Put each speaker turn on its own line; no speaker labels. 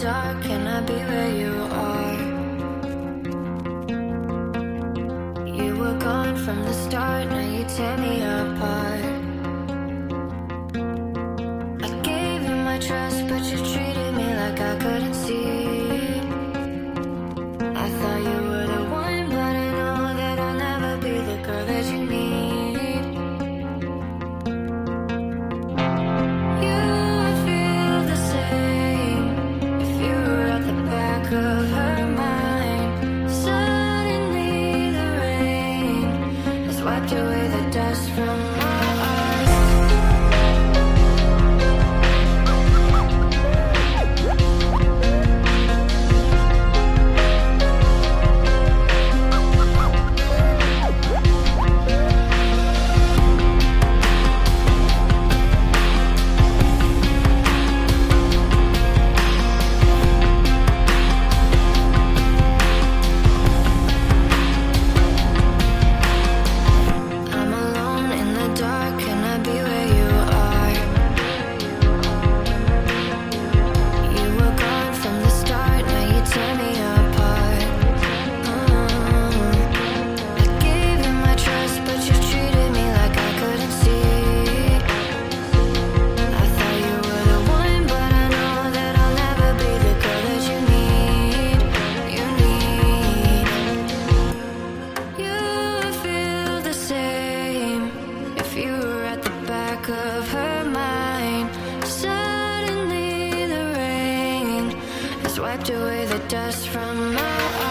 dark, can I be where you are? You were gone from the start, now you tear me apart. I gave you my trust, but you treated me like I couldn't see. I thought you were the one, but I know that I'll never be the girl that you need. You would feel the same if you were at the back of her mind. Suddenly the rain has wiped away the dust from my eyes. I'm alone in the dark, can I be where you are? You were gone from the start, now you tear me apart. I gave you my trust, but you treated me like I couldn't see. I thought you were the one, but I know that I'll never be the girl that you need. You need. You would feel the same if you were at the back of her mind. Suddenly the rain has wiped away the dust from my eyes.